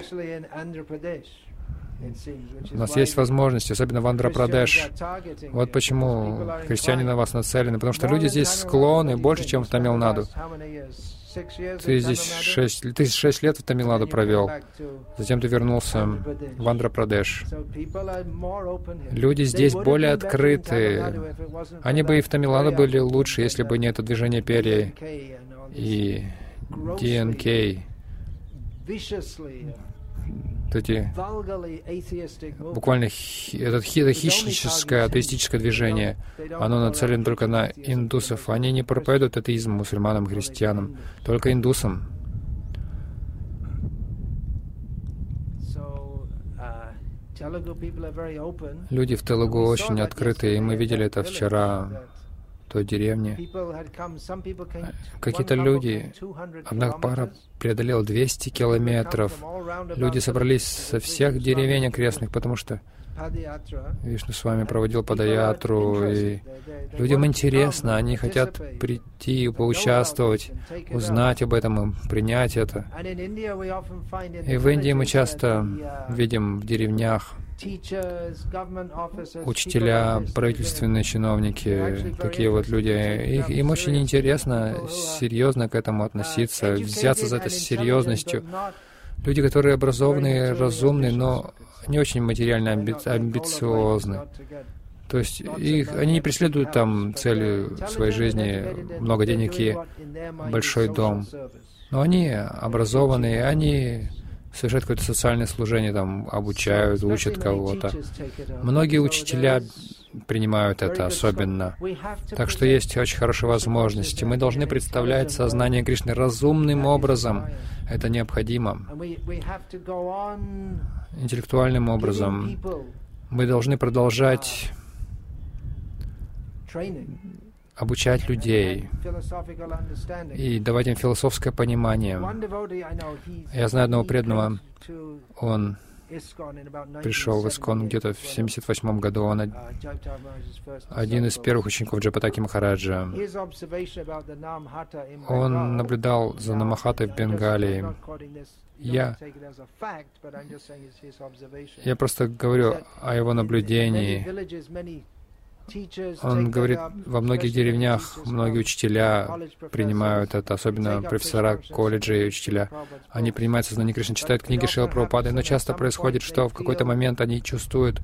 У нас есть возможность, особенно в Андхра-Прадеш. Вот почему христиане на вас нацелены. Потому что люди здесь склонны больше, чем в Тамил-Наду. Ты здесь 6 лет в Тамил-Наду провел. Затем ты вернулся в Андхра-Прадеш. Люди здесь более открыты. Они бы и в Тамил-Наду были лучше, если бы не это движение перья и ДНК. Эти буквально это хищническое атеистическое движение, оно нацелено только на индусов. Они не проповедуют атеизм мусульманам, христианам, только индусам. Люди в Телугу очень открыты, и мы видели это вчера в той деревне. Какие-то люди, одна пара преодолела 200 километров. Люди собрались со всех деревень окрестных, потому что Вишну с вами проводил падаятру, и людям интересно, они хотят прийти, поучаствовать, узнать об этом и принять это. И в Индии мы часто видим в деревнях учителя, правительственные чиновники, такие вот люди. Им очень интересно серьезно к этому относиться, взяться за это с серьезностью. Люди, которые образованные, разумные, но не очень материально амбициозны. То есть они не преследуют там цели своей жизни, много денег и большой дом. Но они образованные, они совершают какое-то социальное служение, там, обучают, учат кого-то. Многие учителя принимают это особенно. Так что есть очень хорошие возможности. Мы должны представлять сознание Кришны разумным образом. Это необходимо. Интеллектуальным образом. Мы должны продолжать обучать людей и давать им философское понимание. Я знаю одного преданного, он пришел в Искон где-то в 1978 году, он один из первых учеников Джапатаки Махараджа. Он наблюдал за Намахатой в Бенгалии. Я просто говорю о его наблюдении. Он говорит, во многих деревнях многие учителя принимают это, особенно профессора колледжа и учителя. Они принимают сознание Кришны, читают книги Шрилы Прабхупады, но часто происходит, что в какой-то момент они чувствуют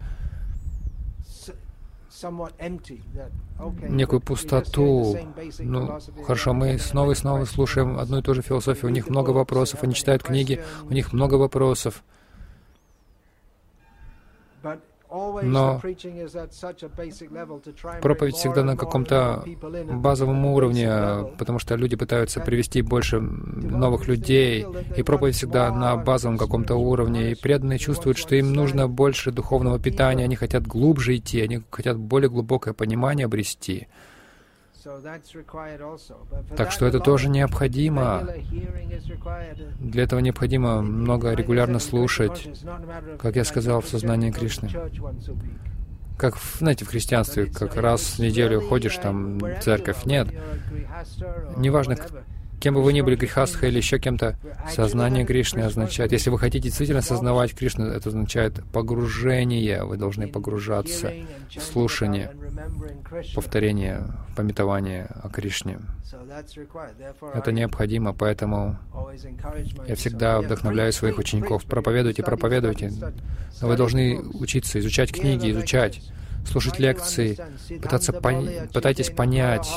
некую пустоту. Ну, хорошо, мы снова и снова слушаем одну и ту же философию, у них много вопросов, они читают книги, у них много вопросов. Но проповедь всегда на каком-то базовом уровне, потому что люди пытаются привести больше новых людей, и проповедь всегда на базовом каком-то уровне, и преданные чувствуют, что им нужно больше духовного питания, они хотят глубже идти, они хотят более глубокое понимание обрести. Так что это тоже необходимо. Для этого необходимо много регулярно слушать, как я сказал, в сознании Кришны. Как, знаете, в христианстве, как раз в неделю ходишь там в церковь. Нет. Неважно, кем бы вы ни были, грихастха или еще кем-то, сознание Кришны означает, если вы хотите действительно осознавать Кришну, это означает погружение, вы должны погружаться в слушание, повторение, памятование о Кришне. Это необходимо, поэтому я всегда вдохновляю своих учеников. Проповедуйте, проповедуйте. Но вы должны учиться, изучать книги, изучать, слушать лекции, пытайтесь понять.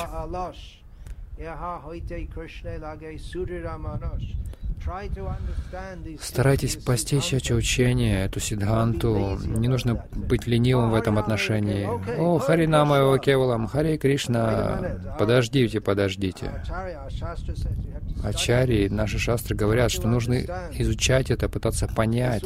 Старайтесь постичь эти учения, эту сиддханту. Не нужно быть ленивым в этом отношении. О, Харинама Кевалам, Харе Кришна. Подождите, подождите. Ачарьи, наши шастры говорят, что нужно изучать это, пытаться понять.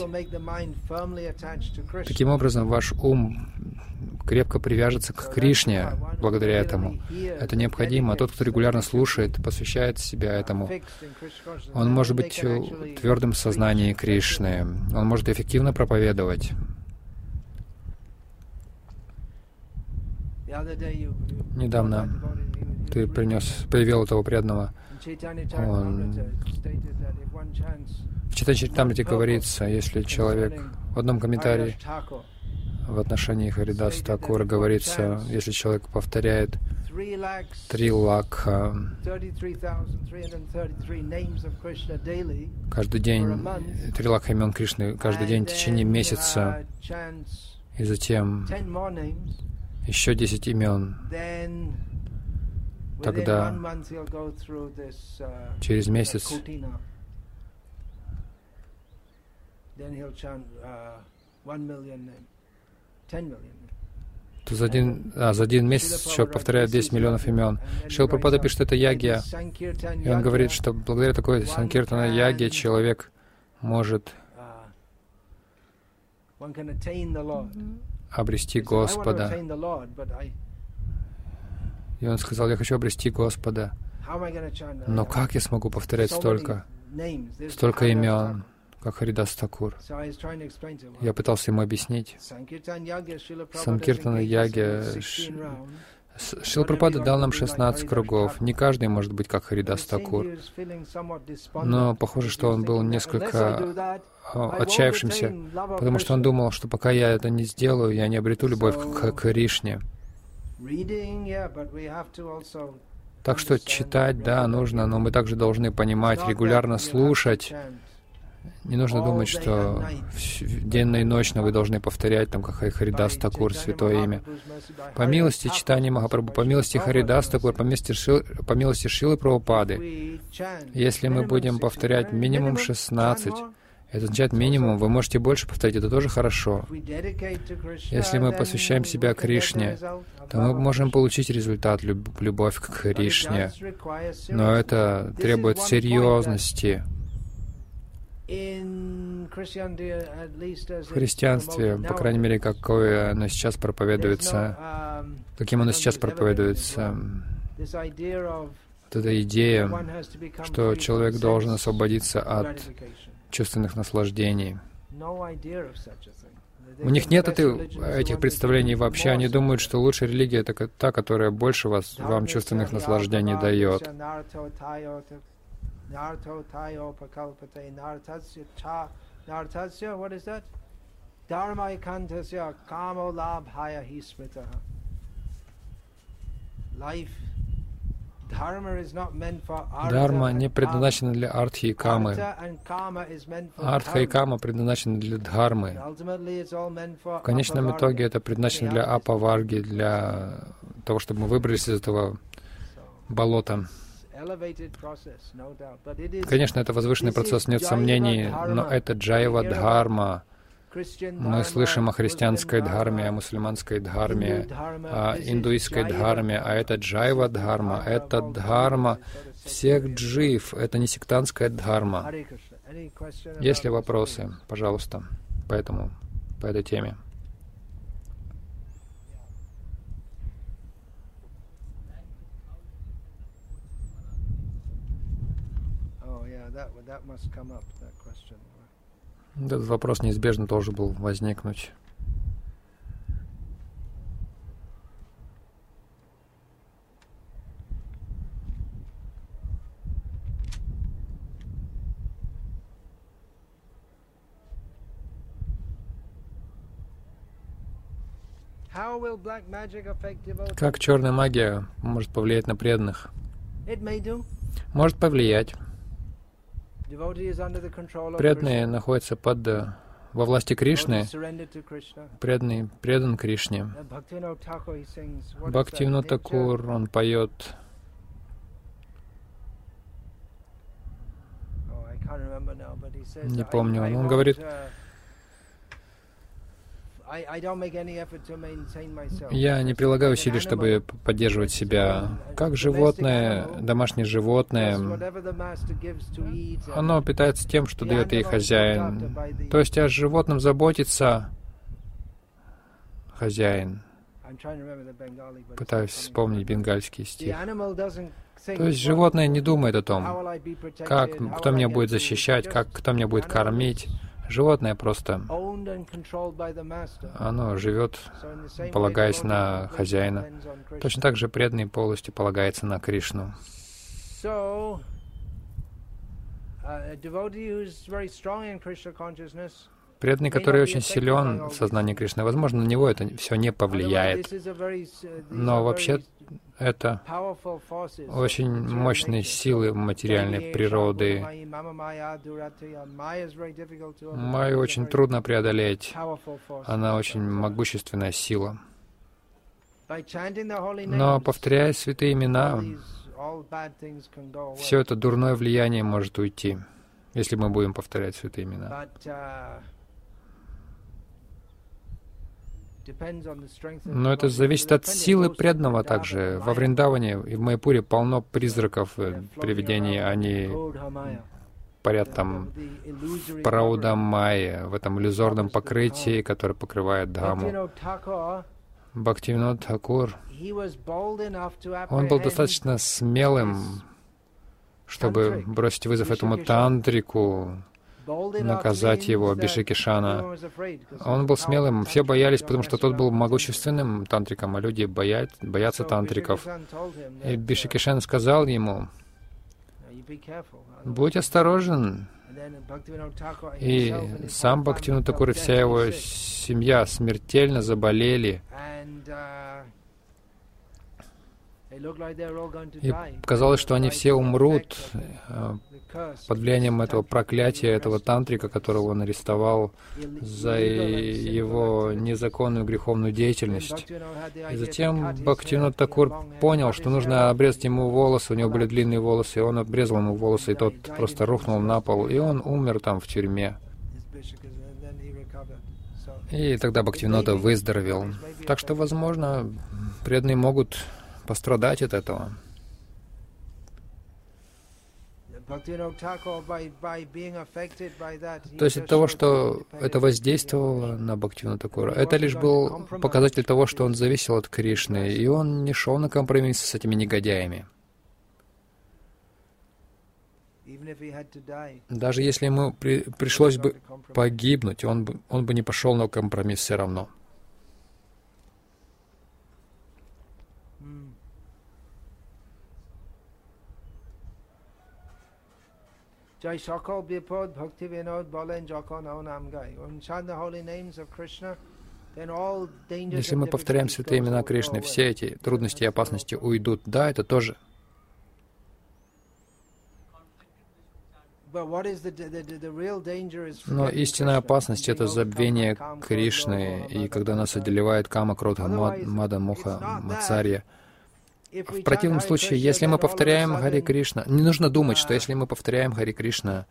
Таким образом, ваш ум крепко привяжется к Кришне благодаря этому. Это необходимо. Тот, кто регулярно слушает, посвящает себя этому, он может быть твердым в сознании Кришны. Он может эффективно проповедовать. Недавно ты привел этого преданного. В Чайтанья Чаритамрите говорится, если человек в одном комментарии в отношении Харидаса Такура говорится, если человек повторяет 3 лакха каждый день, 3 лакха имен Кришны каждый день в течение месяца, и затем еще 10 имен, тогда через месяц то за один месяц человек повторяет 10 миллионов имен. Шрила Прабхупада пишет, что это ягья. И он говорит, что благодаря такой санкиртана ягье человек может обрести Господа. И он сказал: я хочу обрести Господа. Но как я смогу повторять столько имен, как Харидас Такур? Я пытался ему объяснить. Санкиртана Яге Шрила Прабхупада дал нам 16 кругов. Не каждый может быть как Харидас Такур. Но похоже, что он был несколько отчаявшимся, потому что он думал, что пока я это не сделаю, я не обрету любовь к Кришне. Так что читать, да, нужно, но мы также должны понимать, регулярно слушать. Не нужно думать, что денно и ночно вы должны повторять, там, как Харидас Такур, святое имя. По милости читания Махапрабху, по милости Харидас Такур, по милости Шрилы Прабхупады, если мы будем повторять минимум 16, это означает минимум, вы можете больше повторить, это тоже хорошо. Если мы посвящаем себя Кришне, то мы можем получить результат, любовь к Кришне. Но это требует серьезности. В христианстве, по крайней мере, какое оно сейчас проповедуется, каким оно сейчас проповедуется, вот эта идея, что человек должен освободиться от чувственных наслаждений. У них нет этих представлений вообще. Они думают, что лучшая религия — это та, которая больше вам чувственных наслаждений дает. Дхарма не предназначена для артхи и камы. Артха и кама предназначены для дхармы. В конечном итоге это предназначено для апаварги, для того, чтобы мы выбрались из этого болота. Конечно, это возвышенный процесс, нет сомнений, но это джайва дхарма. Мы слышим о христианской дхарме, о мусульманской дхарме, о индуистской дхарме, а это джайва дхарма, это дхарма всех джив, это не сектантская дхарма. Есть ли вопросы, пожалуйста, по этой теме? Этот вопрос неизбежно должен был возникнуть. Как черная магия может повлиять на преданных? Может повлиять. Преданный находится во власти Кришны, предан Кришне. Бхактивинод Такур, он поет. Не помню, он говорит: я не прилагаю усилий, чтобы поддерживать себя. Как животное, домашнее животное, оно питается тем, что дает ей хозяин. То есть о животном заботится хозяин. Пытаюсь вспомнить бенгальский стих. То есть животное не думает о том, кто меня будет защищать, кто меня будет кормить. Животное просто, оно живет, полагаясь на хозяина. Точно так же преданный полностью полагается на Кришну. Преданный, который очень силен в сознании Кришны, возможно, на него это все не повлияет. Но вообще это очень мощные силы материальной природы. Майю очень трудно преодолеть. Она очень могущественная сила. Но, повторяя святые имена, все это дурное влияние может уйти, если мы будем повторять святые имена. Но это зависит от силы преданного также. Во Вриндаване и в Майяпуре полно призраков, привидений. Они парят там в Параудамайе, в этом иллюзорном покрытии, которое покрывает Дхамму. Бхактивинод Тхакур, он был достаточно смелым, чтобы бросить вызов этому тантрику, наказать его, Бишикишана. Он был смелым, все боялись, потому что тот был могущественным тантриком, а люди боятся тантриков. И Бишикишан сказал ему: «Будь осторожен». И сам Бхактивинод Тхакур и вся его семья смертельно заболели. И казалось, что они все умрут под влиянием этого проклятия, этого тантрика, которого он арестовал за его незаконную греховную деятельность. И затем Бхактивинод Тхакур понял, что нужно обрезать ему волосы, у него были длинные волосы, и он обрезал ему волосы, и тот просто рухнул на пол, и он умер там в тюрьме. И тогда Бхактивинода выздоровел. Так что, возможно, преданные могут пострадать от этого. То есть от того, что это воздействовало на Бхактивинода Тхакура, это лишь был показатель того, что он зависел от Кришны, и он не шел на компромисс с этими негодяями. Даже если ему пришлось бы погибнуть, он бы не пошел на компромисс все равно. Jai Sakal Bipod Bhaktivinoda Balen Jakon Aonam Gai. When we chant the holy names of Krishna, then all dangers. Если мы повторяем святые имена Кришны, все эти трудности и опасности уйдут. Да, это тоже. Но истинная опасность — это забвение Кришны, и когда нас одолевает Кама, Кродха, Мада, Моха, Мацарья. В противном случае, если мы повторяем Хари Кришна, не нужно думать, что если мы повторяем Хари Кришна,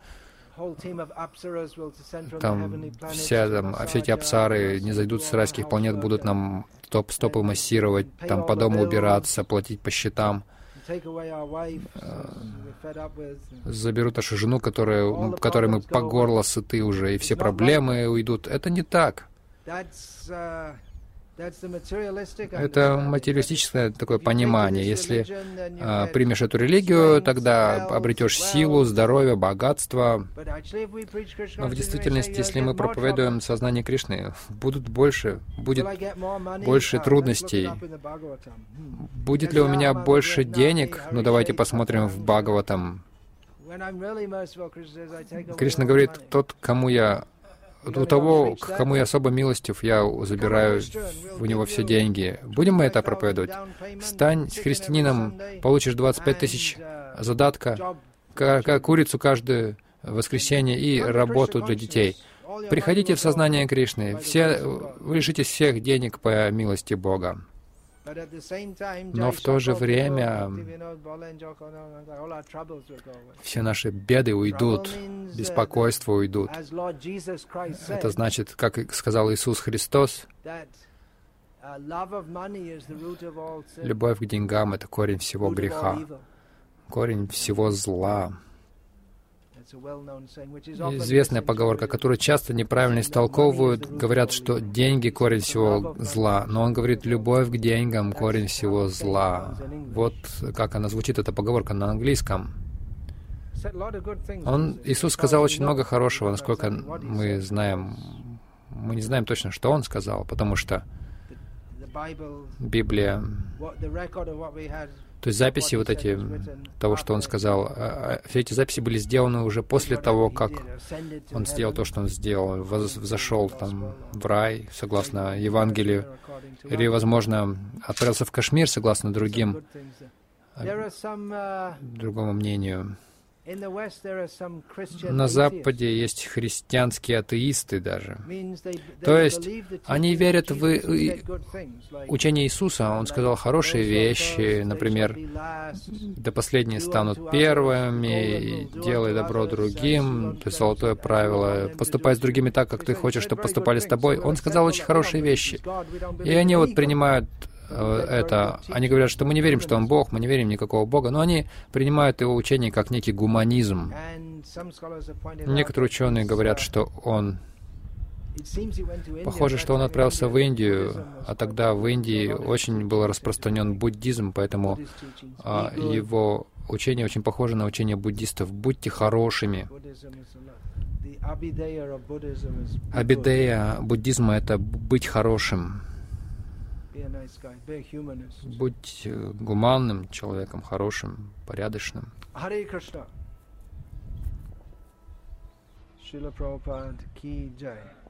там все эти апсары не зайдут с райских планет, будут нам стопы массировать, там по дому убираться, платить по счетам, заберут нашу жену, которой мы по горло сыты уже, и все проблемы уйдут. Это не так. Это материалистическое такое понимание. Если примешь эту религию, тогда обретешь силу, здоровье, богатство. Но в действительности, если мы проповедуем сознание Кришны, будет больше трудностей. Будет ли у меня больше денег? Ну, давайте посмотрим в Бхагаватам. Кришна говорит: у того, к кому я особо милостив, я забираю у него все деньги. Будем мы это проповедовать? Стань христианином, получишь 25 тысяч задатка, курицу каждое воскресенье и работу для детей. Приходите в сознание Кришны. Вы лишитесь всех денег по милости Бога. Но в то же время все наши беды уйдут, беспокойства уйдут. Это значит, как сказал Иисус Христос, любовь к деньгам — это корень всего греха, корень всего зла. Известная поговорка, которую часто неправильно истолковывают, говорят, что деньги — корень всего зла, но он говорит: любовь к деньгам — корень всего зла. Вот как она звучит, эта поговорка на английском. Иисус сказал очень много хорошего, насколько мы знаем. Мы не знаем точно, что Он сказал, потому что Библия, то есть записи вот эти, того, что Он сказал, все эти записи были сделаны уже после того, как Он сделал то, что Он сделал, взошел там в рай, согласно Евангелию, или, возможно, отправился в Кашмир, согласно другому мнению. На Западе есть христианские атеисты даже. То есть они верят в учение Иисуса. Он сказал хорошие вещи, например, «Да последние станут первыми», «Делай добро другим», то есть золотое правило, «Поступай с другими так, как ты хочешь, чтобы поступали с тобой». Он сказал очень хорошие вещи. И они вот принимают это. Они говорят, что мы не верим, что он Бог, мы не верим в никакого Бога, но они принимают его учение как некий гуманизм. Некоторые ученые говорят, что он... Похоже, что он отправился в Индию, а тогда в Индии очень был распространен буддизм, поэтому его учение очень похоже на учение буддистов. Будьте хорошими. Абидея буддизма — это быть хорошим. Будь гуманным человеком, хорошим, порядочным. Харе Кришна. Шрила Прабхупад ки джай.